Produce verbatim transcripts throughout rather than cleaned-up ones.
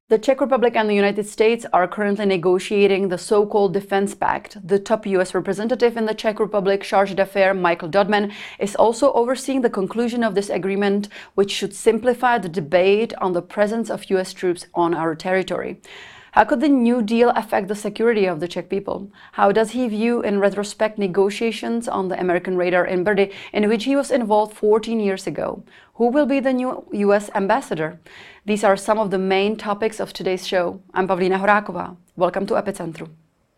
The Czech Republic and the United States are currently negotiating the so-called Defense Pact. The top U S representative in the Czech Republic, Chargé d'Affaires Michael Dodman, is also overseeing the conclusion of this agreement, which should simplify the debate on the presence of U S troops on our territory. How could the New Deal affect the security of the Czech people? How does he view, in retrospect, negotiations on the American radar in Brdy, in which he was involved fourteen years ago? Who will be the new U S ambassador? These are some of the main topics of today's show. I'm Pavlína Horáková. Welcome to Epicentru.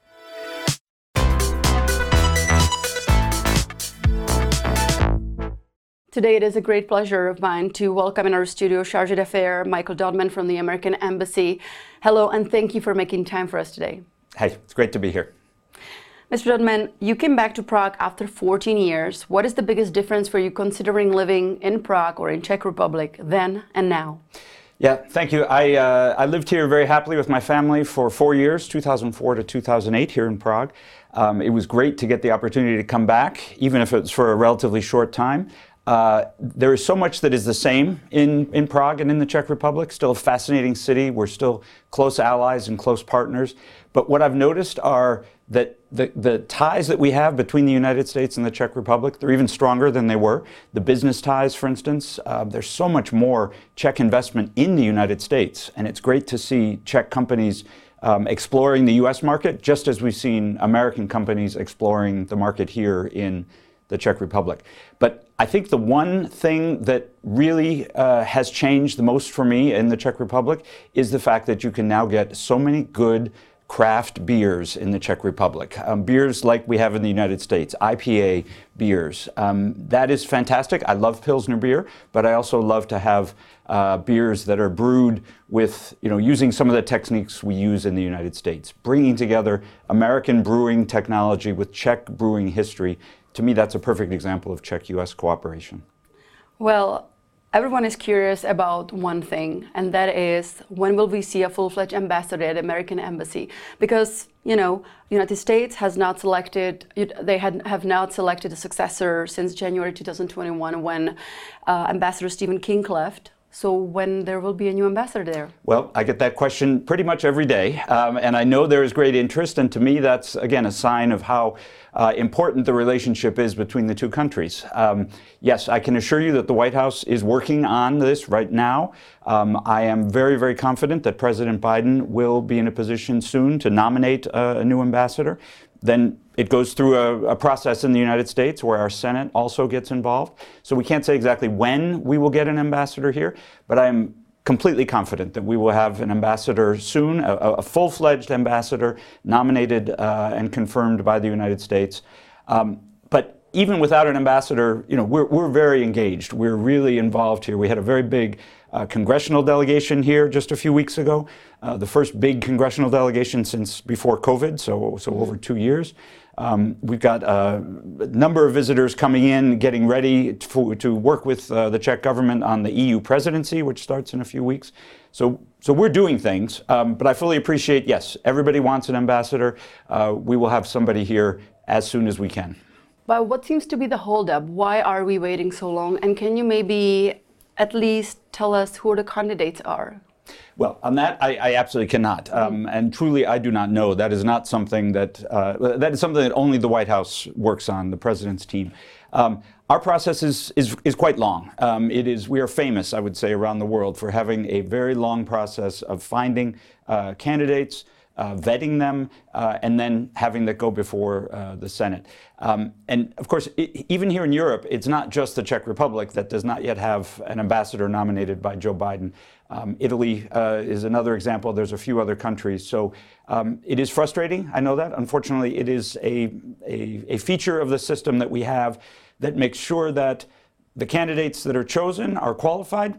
Today it is a great pleasure of mine to welcome in our studio Chargé d'Affaires Michael Dodman from the American Embassy. Hello, and thank you for making time for us today. Hey, it's great to be here. Mister Dodman, you came back to Prague after fourteen years. What is the biggest difference for you considering living in Prague or in Czech Republic then and now? Yeah, thank you. I, uh, I lived here very happily with my family for four years, two thousand four to two thousand eight here in Prague. Um, it was great to get the opportunity to come back, even if it's for a relatively short time. Uh, there is so much that is the same in, in Prague and in the Czech Republic. Still a fascinating city. We're still close allies and close partners. But what I've noticed are that the, the ties that we have between the United States and the Czech Republic, they're even stronger than they were. The business ties, for instance, uh, there's so much more Czech investment in the United States. And it's great to see Czech companies um, exploring the U S market, just as we've seen American companies exploring the market here in the Czech Republic. But I think the one thing that really uh, has changed the most for me in the Czech Republic is the fact that you can now get so many good craft beers in the Czech Republic. Um, beers like we have in the United States, I P A beers. Um, that is fantastic. I love Pilsner beer, but I also love to have uh, beers that are brewed with, you know, using some of the techniques we use in the United States. Bringing together American brewing technology with Czech brewing history. To me, that's a perfect example of Czech-U S cooperation. Well, everyone is curious about one thing, and that is, when will we see a full-fledged ambassador at the American Embassy? Because, you know, the United States has not selected, they had, have not selected a successor since January two thousand twenty-one when uh, Ambassador Stephen King left. So when there will be a new ambassador there? Well, I get that question pretty much every day, um, and I know there is great interest, and to me that's, again, a sign of how uh, important the relationship is between the two countries. Um, yes, I can assure you that the White House is working on this right now. Um, I am very, very confident that President Biden will be in a position soon to nominate uh, a new ambassador. Then it goes through a, a process in the United States where our Senate also gets involved. So we can't say exactly when we will get an ambassador here, but I am completely confident that we will have an ambassador soon, a, a full-fledged ambassador nominated uh, and confirmed by the United States. Um, but even without an ambassador, you know, we're, we're very engaged. We're really involved here. We had a very big uh, congressional delegation here just a few weeks ago, uh, the first big congressional delegation since before COVID, so, so over two years. Um, we've got uh, a number of visitors coming in, getting ready to, to work with uh, the Czech government on the E U presidency, which starts in a few weeks. So, so we're doing things, um, but I fully appreciate, yes, everybody wants an ambassador. Uh, we will have somebody here as soon as we can. But what seems to be the holdup? Why are we waiting so long? And can you maybe at least tell us who the candidates are? Well, on that, I, I absolutely cannot. Um, and truly, I do not know. That is not something that, uh, that is something that only the White House works on, the president's team. Um, our process is, is, is quite long. Um, it is, we are famous, I would say, around the world for having a very long process of finding uh, candidates, Uh, vetting them, uh, and then having that go before uh, the Senate. Um, and of course, it, even here in Europe, it's not just the Czech Republic that does not yet have an ambassador nominated by Joe Biden. Um, Italy uh, is another example. There's a few other countries. So um, it is frustrating, I know that. Unfortunately, it is a, a, a feature of the system that we have that makes sure that the candidates that are chosen are qualified,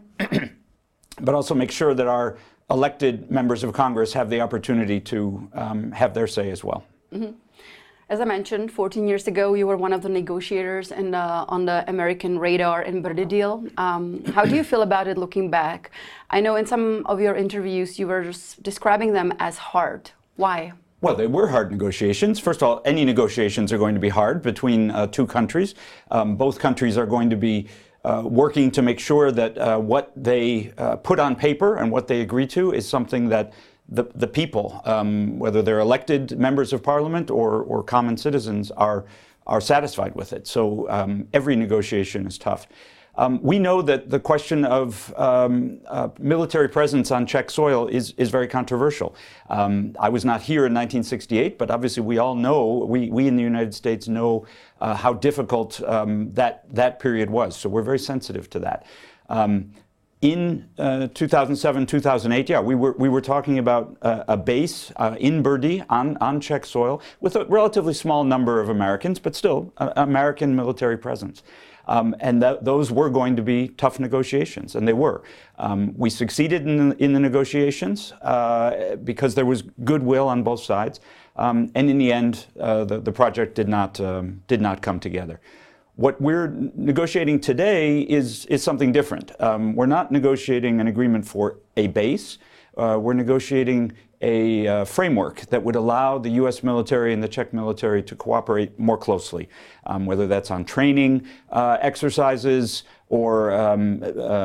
but also make sure that our elected members of Congress have the opportunity to um, have their say as well. Mm-hmm. As I mentioned, fourteen years ago, you were one of the negotiators in the, on the American radar in Brdy deal. Um, how do you feel about it looking back? I know in some of your interviews, you were just describing them as hard. Why? Well, they were hard negotiations. First of all, any negotiations are going to be hard between uh, two countries. Um, both countries are going to be uh, working to make sure that uh, what they uh, put on paper and what they agree to is something that the, the people, um, whether they're elected members of parliament or, or common citizens, are, are satisfied with it. So um, every negotiation is tough. Um, we know that the question of um, uh, military presence on Czech soil is, is very controversial. Um, I was not here in nineteen sixty-eight, but obviously we all know, we, we in the United States know uh, how difficult um, that, that period was. So we're very sensitive to that. Um, in uh, two thousand seven, two thousand eight, yeah, we were, we were talking about uh, a base uh, in Brdy on, on Czech soil with a relatively small number of Americans, but still uh, American military presence. Um, and th those were going to be tough negotiations, and they were. Um, we succeeded in the, in the negotiations uh, because there was goodwill on both sides, um, and in the end, uh, the, the project did not um, did not come together. What we're negotiating today is is something different. Um, we're not negotiating an agreement for a base. Uh, we're negotiating a uh, framework that would allow the U S military and the Czech military to cooperate more closely, um, whether that's on training uh, exercises or um,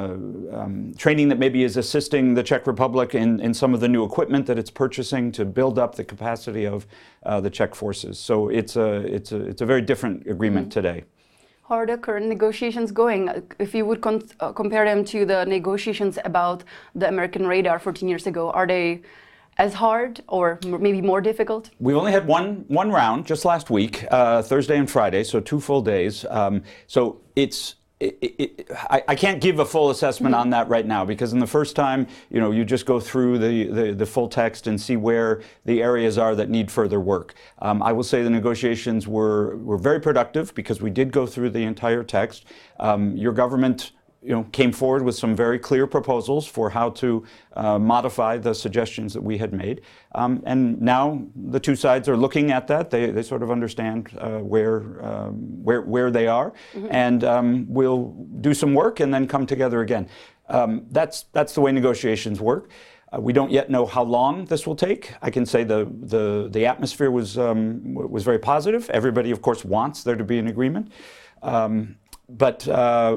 uh, um, training that maybe is assisting the Czech Republic in, in some of the new equipment that it's purchasing to build up the capacity of uh, the Czech forces. So it's a, it's a, it's a very different agreement mm-hmm. today. How are the current negotiations going? If you would con uh, compare them to the negotiations about the American radar fourteen years ago, are they as hard or maybe more difficult? We only had one one round just last week, uh, Thursday and Friday, so two full days. Um, so it's It, it, I, I can't give a full assessment mm-hmm. on that right now, because in the first time, you know, you just go through the, the, the full text and see where the areas are that need further work. Um, I will say the negotiations were, were very productive because we did go through the entire text. Um, your government you know, came forward with some very clear proposals for how to uh, modify the suggestions that we had made. Um, and now the two sides are looking at that. They, they sort of understand uh, where, um, where, where they are. Mm-hmm. And um, we'll do some work and then come together again. Um, that's, that's the way negotiations work. Uh, we don't yet know how long this will take. I can say the, the, the atmosphere was, um, was very positive. Everybody, of course, wants there to be an agreement. Um, but uh,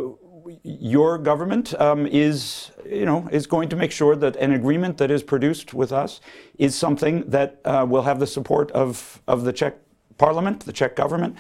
your government um, is, you know, is going to make sure that an agreement that is produced with us is something that uh, will have the support of, of the Czech Parliament, the Czech government,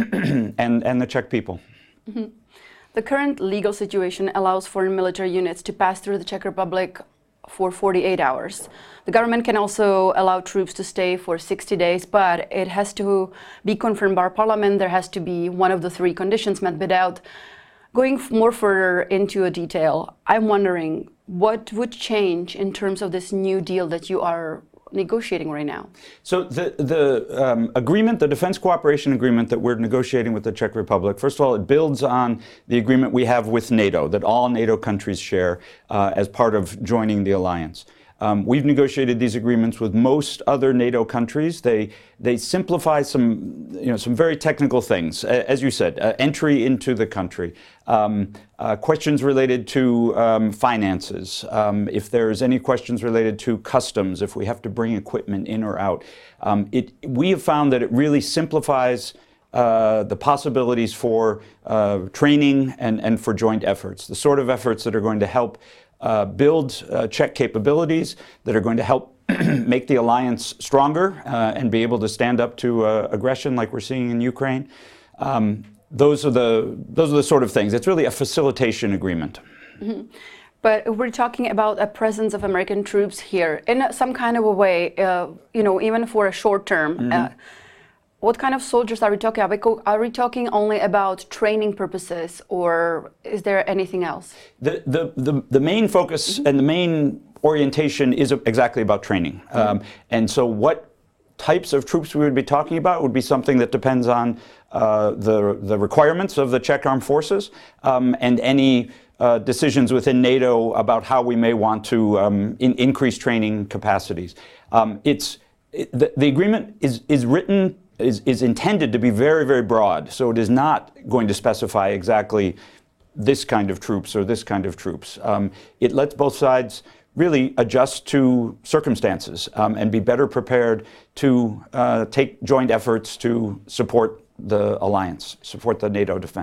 and, and the Czech people. Mm-hmm. The current legal situation allows foreign military units to pass through the Czech Republic for forty-eight hours. The government can also allow troops to stay for sixty days, but it has to be confirmed by Parliament. There has to be one of the three conditions met. Without going more further into a detail, I'm wondering what would change in terms of this new deal that you are negotiating right now? So the, the um, agreement, the defense cooperation agreement that we're negotiating with the Czech Republic, first of all, it builds on the agreement we have with NATO, that all NATO countries share uh, as part of joining the alliance. Um, we've negotiated these agreements with most other NATO countries. They, they simplify some, you know, some very technical things. As you said, uh, entry into the country, um, uh, questions related to um, finances, um, if there's any questions related to customs, if we have to bring equipment in or out. Um, it, we have found that it really simplifies Uh, the possibilities for uh, training and, and for joint efforts, the sort of efforts that are going to help uh, build uh, Czech capabilities, that are going to help make the alliance stronger uh, and be able to stand up to uh, aggression like we're seeing in Ukraine. Um, those are the those are the sort of things. It's really a facilitation agreement. Mm-hmm. But we're talking about a presence of American troops here in some kind of a way, uh, you know, even for a short term. Mm-hmm. uh, What kind of soldiers are we talking about? Are we talking only about training purposes, or is there anything else? The, the, the, the main focus mm-hmm. and the main orientation is exactly about training. Mm-hmm. um, and so what types of troops we would be talking about would be something that depends on uh, the, the requirements of the Czech Armed Forces um, and any uh, decisions within NATO about how we may want to um, in, increase training capacities. Um, it's, it, the, the agreement is, is written Is, is intended to be very, very broad. So it is not going to specify exactly this kind of troops or this kind of troops. Um, it lets both sides really adjust to circumstances um, and be better prepared to uh, take joint efforts to support the alliance, support the NATO defense.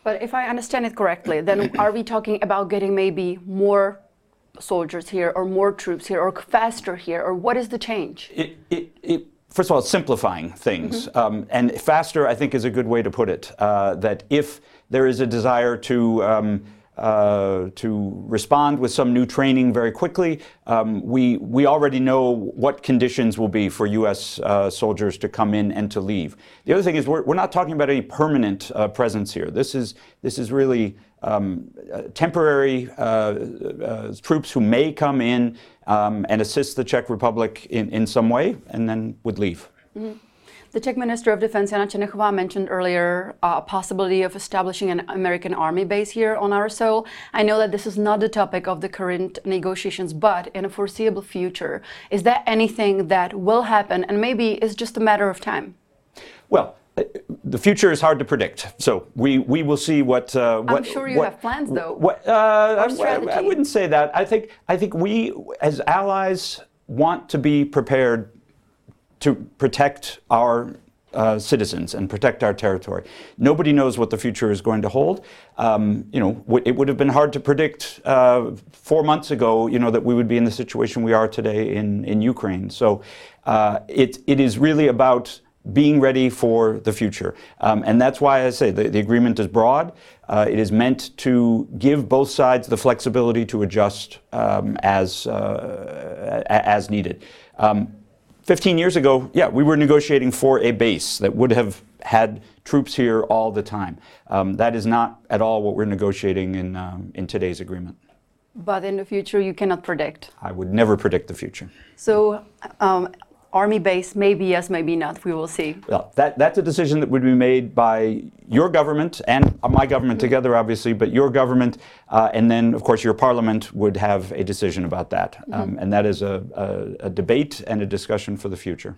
But if I understand it correctly, then are we talking about getting maybe more soldiers here or more troops here or faster here, or what is the change? It, it, it, first of all, it's simplifying things. Mm-hmm. um, and faster, I think, is a good way to put it. Uh, that if there is a desire to um, Uh, to respond with some new training very quickly. Um, we we already know what conditions will be for U S uh, soldiers to come in and to leave. The other thing is we're, we're not talking about any permanent uh, presence here. This is this is really um, uh, temporary uh, uh, troops who may come in um, and assist the Czech Republic in, in some way and then would leave. Mm-hmm. The Czech Minister of Defense, Jana Černochová, mentioned earlier uh, a possibility of establishing an American army base here on our soil. I know that this is not the topic of the current negotiations, but in a foreseeable future, is that anything that will happen and maybe is just a matter of time? Well, the future is hard to predict, so we, we will see what. Uh, what I'm sure you what, have plans, though. What, uh, or strategy. I, I wouldn't say that. I think I think we, as allies, want to be prepared to protect our uh, citizens and protect our territory. Nobody knows what the future is going to hold. Um, you know, w- it would have been hard to predict uh, four months ago, you know, that we would be in the situation we are today in, in Ukraine. So uh, it, it is really about being ready for the future. Um, and that's why I say the, the agreement is broad. Uh, it is meant to give both sides the flexibility to adjust um, as, uh, as needed. Um, Fifteen years ago, yeah, we were negotiating for a base that would have had troops here all the time. Um, that is not at all what we're negotiating in um, in today's agreement. But in the future, you cannot predict. I would never predict the future. So, um, army base, maybe yes, maybe not. We will see. Well, that that's a decision that would be made by your government and my government mm-hmm. together, obviously. But your government, uh, and then of course your parliament would have a decision about that, mm-hmm. um, and that is a, a, a debate and a discussion for the future.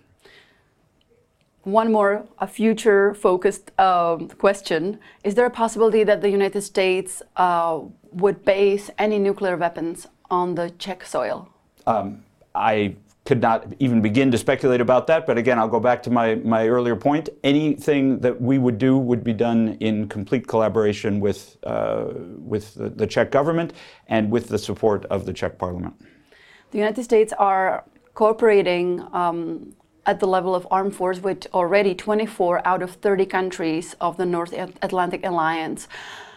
One more, a future-focused um, question: is there a possibility that the United States uh, would base any nuclear weapons on the Czech soil? Um, I. could not even begin to speculate about that. But again, I'll go back to my, my earlier point. Anything that we would do would be done in complete collaboration with, uh, with the, the Czech government and with the support of the Czech parliament. The United States are cooperating um, at the level of armed force with already twenty-four out of thirty countries of the North Atlantic Alliance.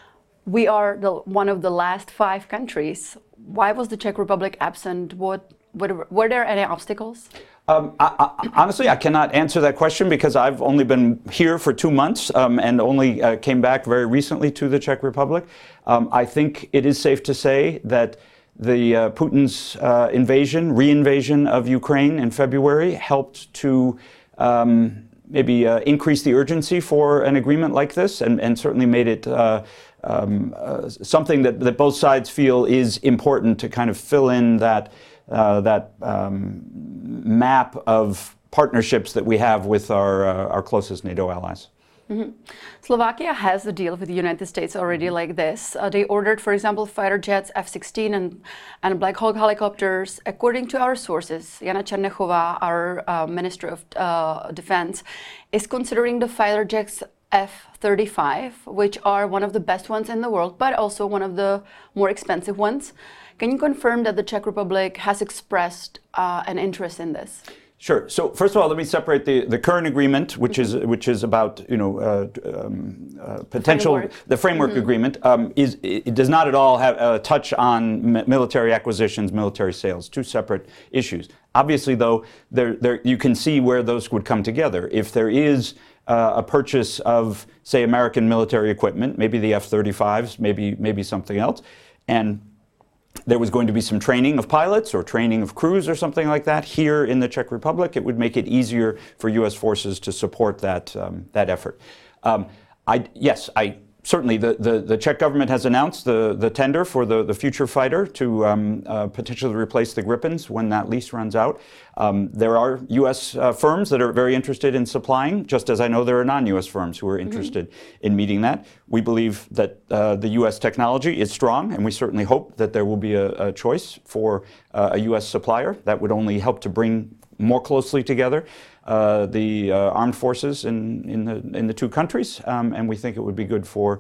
We are the, one of the last five countries. Why was the Czech Republic absent? What Were, were there any obstacles? Um, I, I, honestly, I cannot answer that question because I've only been here for two months um, and only uh, came back very recently to the Czech Republic. Um, I think it is safe to say that the uh, Putin's uh, invasion, re-invasion of Ukraine in February helped to um, maybe uh, increase the urgency for an agreement like this, and, and certainly made it uh, um, uh, something that, that both sides feel is important to kind of fill in that Uh, that um, map of partnerships that we have with our uh, our closest NATO allies. Mm-hmm. Slovakia has a deal with the United States already like this. Uh, they ordered, for example, fighter jets, F sixteen and, and Black Hawk helicopters. According to our sources, Jana Černochová, our uh, Minister of uh, Defense, is considering the fighter jets F thirty-five, which are one of the best ones in the world, but also one of the more expensive ones. Can you confirm that the Czech Republic has expressed uh, an interest in this? Sure. So first of all, let me separate the, the current agreement, which mm-hmm. is which is about you know uh, um, uh, potential framework. the framework mm-hmm. agreement um, is it does not at all have a touch on military acquisitions, military sales. Two separate issues. Obviously, though, there there you can see where those would come together. If there is uh, a purchase of, say, American military equipment, maybe the F thirty-fives, maybe maybe something else, and there was going to be some training of pilots or training of crews or something like that here in the Czech Republic, it would make it easier for U S forces to support that um, that effort. Um, I, yes, I certainly the, the, the Czech government has announced the, the tender for the, the future fighter to um, uh, potentially replace the Gripens when that lease runs out. Um, there are U S uh, firms that are very interested in supplying, just as I know there are non-U S firms who are interested mm-hmm. in meeting that. We believe that uh, the U S technology is strong, and we certainly hope that there will be a, a choice for uh, a U S supplier. That would only help to bring more closely together uh, the uh, armed forces in, in, the, in the two countries, um, and we think it would be good for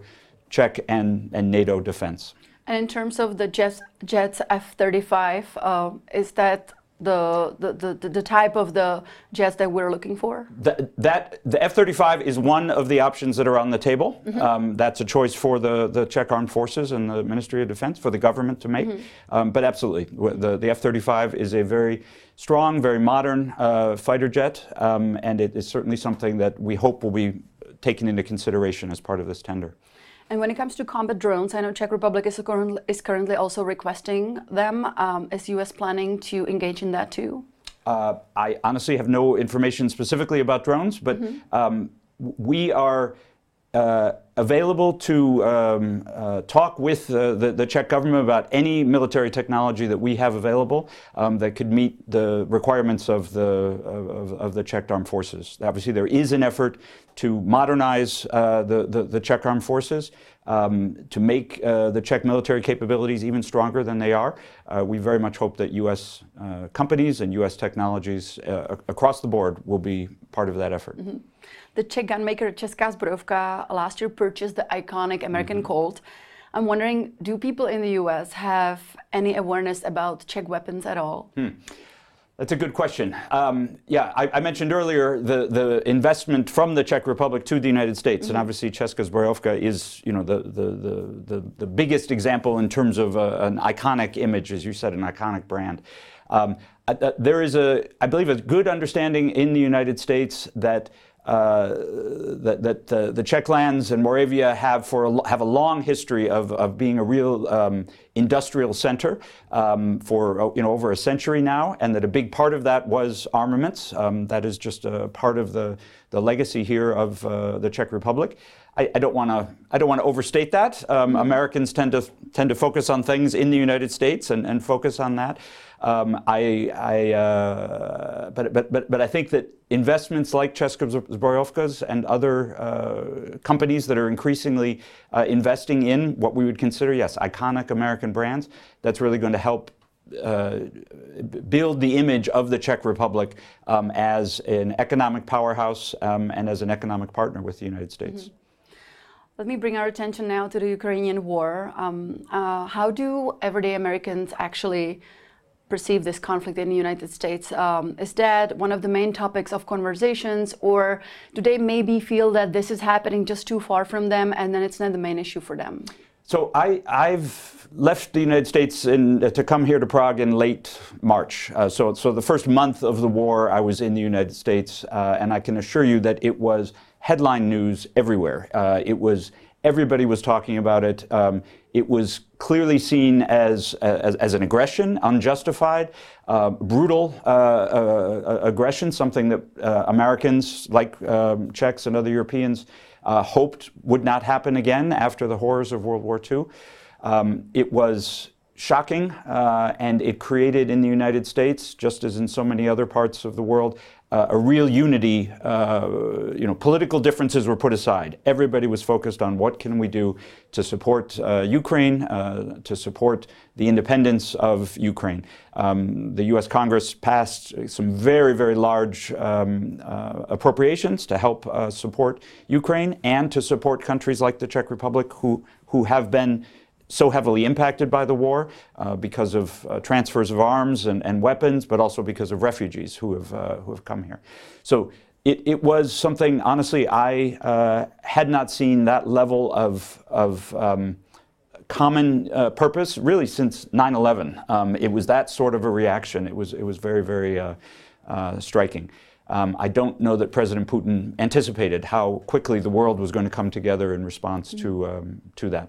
Czech and, and NATO defense. And in terms of the jets, jets F thirty-five, uh, is that the, the, the, the type of the jets that we're looking for? That, that the F thirty-five is one of the options that are on the table. Mm-hmm. um, that's a choice for the, the Czech Armed Forces and the Ministry of Defense, for the government to make. Mm-hmm. um, but absolutely, the, the F thirty-five is a very strong, very modern uh, fighter jet, um, and it is certainly something that we hope will be taken into consideration as part of this tender. And when it comes to combat drones, I know Czech Republic is, current, is currently also requesting them. Um, is U S planning to engage in that too? Uh, I honestly have no information specifically about drones, but mm-hmm. um, we are uh, available to um, uh, talk with uh, the, the Czech government about any military technology that we have available um, that could meet the requirements of the of, of the Czech Armed Forces. Obviously, there is an effort to modernize uh, the, the the Czech Armed Forces, um, to make uh, the Czech military capabilities even stronger than they are. Uh, we very much hope that U S uh, companies and U S technologies uh, across the board will be part of that effort. Mm-hmm. The Czech gunmaker Česká zbrojovka last year purchased the iconic American mm-hmm. Colt. I'm wondering, do people in the U S have any awareness about Czech weapons at all? Hmm. That's a good question. Um, yeah, I, I mentioned earlier the, the investment from the Czech Republic to the United States, mm-hmm. and obviously Česká zbrojovka is, you know, the the, the, the, the biggest example in terms of a, an iconic image, as you said, an iconic brand. Um, uh, there is a, I believe, a good understanding in the United States that Uh, that, that uh, the Czech lands and Moravia have for a, have a long history of, of being a real um, industrial center um, for you know over a century now, and that a big part of that was armaments. Um, that is just a part of the the legacy here of uh, the Czech Republic. I, I don't want to I don't want to overstate that. Um, mm-hmm. Americans tend to tend to focus on things in the United States and, and focus on that. Um, I, I uh, but, but, but, but I think that investments like Česká zbrojovka and other uh, companies that are increasingly uh, investing in what we would consider, yes, iconic American brands, that's really going to help uh, build the image of the Czech Republic um, as an economic powerhouse um, and as an economic partner with the United States. Mm-hmm. Let me bring our attention now to the Ukrainian war. Um, uh, how do everyday Americans actually perceive this conflict in the United States? Um, is that one of the main topics of conversations, or do they maybe feel that this is happening just too far from them and then it's not the main issue for them? So I, I've left the United States in, uh, to come here to Prague in late March. Uh, so, so the first month of the war I was in the United States, uh, and I can assure you that it was headline news everywhere. Uh, it was Everybody was talking about it. Um, it was clearly seen as, as, as an aggression, unjustified, uh, brutal uh, uh, aggression, something that uh, Americans, like um, Czechs and other Europeans, uh, hoped would not happen again after the horrors of World War Two. Um, it was shocking, uh, and it created in the United States, just as in so many other parts of the world, Uh, a real unity. Uh, you know, political differences were put aside. Everybody was focused on what can we do to support uh, Ukraine, uh, to support the independence of Ukraine. Um, the U S Congress passed some very, very large um, uh, appropriations to help uh, support Ukraine and to support countries like the Czech Republic who, who have been so heavily impacted by the war uh, because of uh, transfers of arms and, and weapons, but also because of refugees who have uh, who have come here. So it, it was something, honestly, I uh, had not seen that level of, of um, common uh, purpose really since nine eleven. Um, it was that sort of a reaction. It was, it was very, very uh, uh, striking. Um, I don't know that President Putin anticipated how quickly the world was going to come together in response mm-hmm. to, um, to that.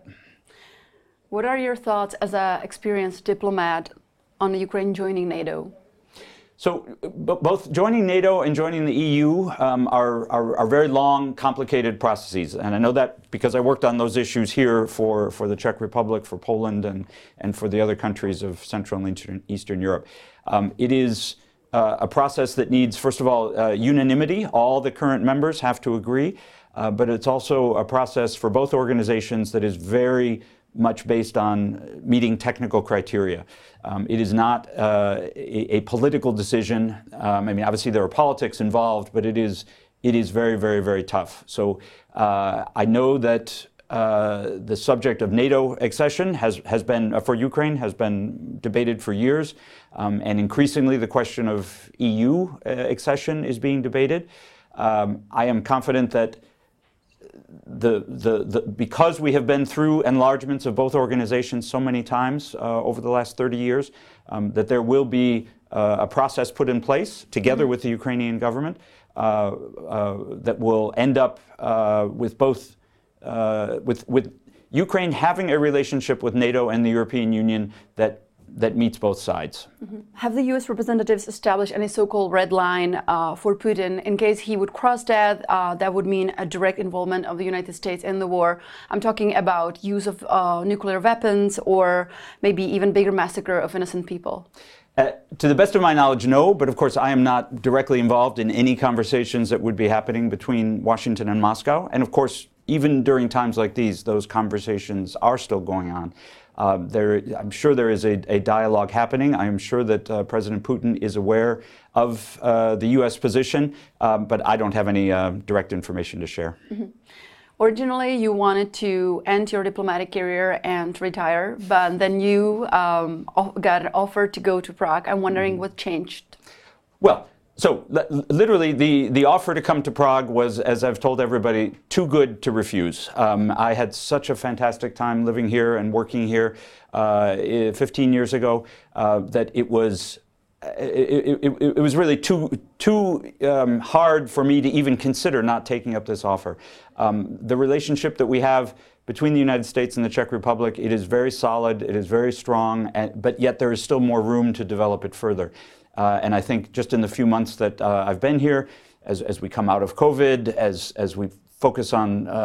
What are your thoughts as an experienced diplomat on Ukraine joining NATO? So b- both joining NATO and joining the E U um, are, are, are very long, complicated processes. And I know that because I worked on those issues here for, for the Czech Republic, for Poland, and, and for the other countries of Central and Eastern, Eastern Europe. Um, it is uh, a process that needs, first of all, uh, unanimity. All the current members have to agree. Uh, but it's also a process for both organizations that is very much based on meeting technical criteria. Um, it is not uh, a, a political decision. Um, I mean, obviously there are politics involved, but it is it is very, very, very tough. So uh, I know that Uh, the subject of NATO accession has, has been, uh, for Ukraine, has been debated for years, um, and increasingly the question of E U uh, accession is being debated. Um, I am confident that the, the, the, because we have been through enlargements of both organizations so many times uh, over the last thirty years, um, that there will be uh, a process put in place together mm-hmm. with the Ukrainian government uh, uh, that will end up uh, with both Uh, with, with Ukraine having a relationship with NATO and the European Union that, that meets both sides. Mm-hmm. Have the U S representatives established any so-called red line uh, for Putin in case he would cross that? Uh, that would mean a direct involvement of the United States in the war. I'm talking about use of uh, nuclear weapons or maybe even bigger massacre of innocent people. Uh, to the best of my knowledge, no, but of course I am not directly involved in any conversations that would be happening between Washington and Moscow. And of course, even during times like these, those conversations are still going on. Uh, there, I'm sure there is a, a dialogue happening. I am sure that uh, President Putin is aware of uh, the U S position, um, but I don't have any uh, direct information to share. Mm-hmm. Originally, you wanted to end your diplomatic career and retire, but then you um, got an offer to go to Prague. I'm wondering what changed. Well, so literally the, the offer to come to Prague was, as I've told everybody, too good to refuse. Um, I had such a fantastic time living here and working here uh, fifteen years ago uh, that it was It, it, it, it was really too, too um, hard for me to even consider not taking up this offer. Um, the relationship that we have between the United States and the Czech Republic, it is very solid, it is very strong, and, but yet there is still more room to develop it further. Uh, and I think just in the few months that uh, I've been here, as, as we come out of COVID, as, as we focus on uh,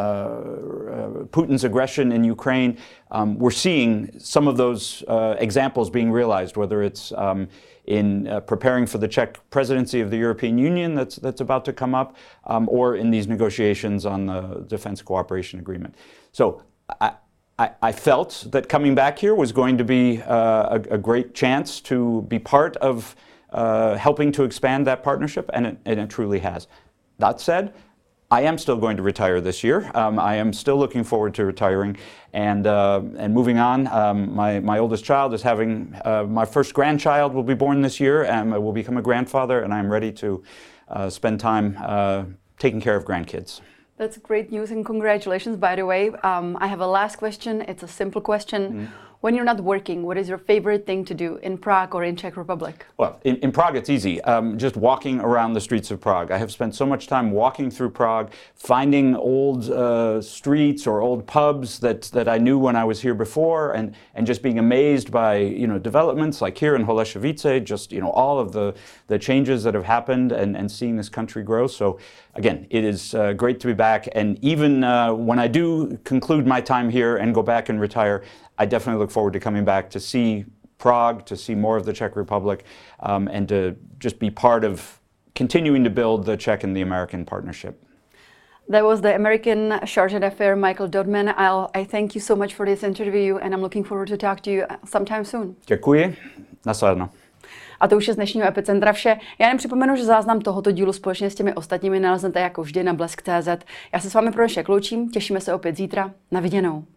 uh, Putin's aggression in Ukraine, um, we're seeing some of those uh, examples being realized, whether it's um, in uh, preparing for the Czech presidency of the European Union that's, that's about to come up, um, or in these negotiations on the Defense Cooperation Agreement. So I, I, I felt that coming back here was going to be uh, a, a great chance to be part of uh, helping to expand that partnership, and it, and it truly has. That said, I am still going to retire this year. Um, I am still looking forward to retiring and uh, and moving on. Um, my, my oldest child is having, uh, my first grandchild will be born this year, and I will become a grandfather, and I'm ready to uh, spend time uh, taking care of grandkids. That's great news, and congratulations, by the way. Um, I have a last question. It's a simple question. Mm-hmm. When you're not working, what is your favorite thing to do in Prague or in Czech Republic? Well, in, in Prague it's easy. Um, just walking around the streets of Prague. I have spent so much time walking through Prague, finding old uh, streets or old pubs that, that I knew when I was here before, and, and just being amazed by, you know, developments like here in Holešovice, just, you know, all of the, the changes that have happened, and, and seeing this country grow. So again, it is uh, great to be back, and even uh, when I do conclude my time here and go back and retire, I definitely look forward to coming back to see Prague, to see more of the Czech Republic, um, and to just be part of continuing to build the Czech and the American partnership. That was the American Chargé d'Affaires, Michael Dodman. I'll, I thank you so much for this interview, and I'm looking forward to talk to you sometime soon. Děkuji. Nasledno. A to už je z dnešního Epicentra vše. Já jen připomenu, že záznam tohoto dílu společně s těmi ostatními naleznete jako vždy na blesk tečka cé zet. Já se s vámi pro dnešek loučím, těšíme se opět zítra. Na viděnou.